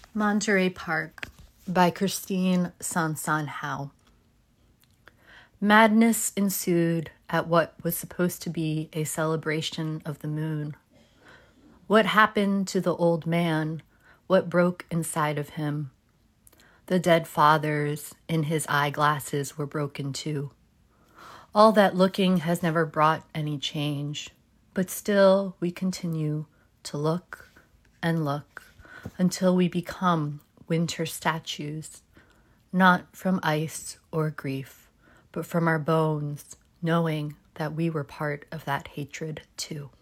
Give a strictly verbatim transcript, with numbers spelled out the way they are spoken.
Monterey Park by Christine Sanson Howe. Madness ensued at what was supposed to be a celebration of the moon. What happened to the old man? What broke inside of him? The dead fathers in his eyeglasses were broken too. All that looking has never brought any change, but still we continue to look and look until we become winter statues, not from ice or grief, but from our bones, knowing that we were part of that hatred too.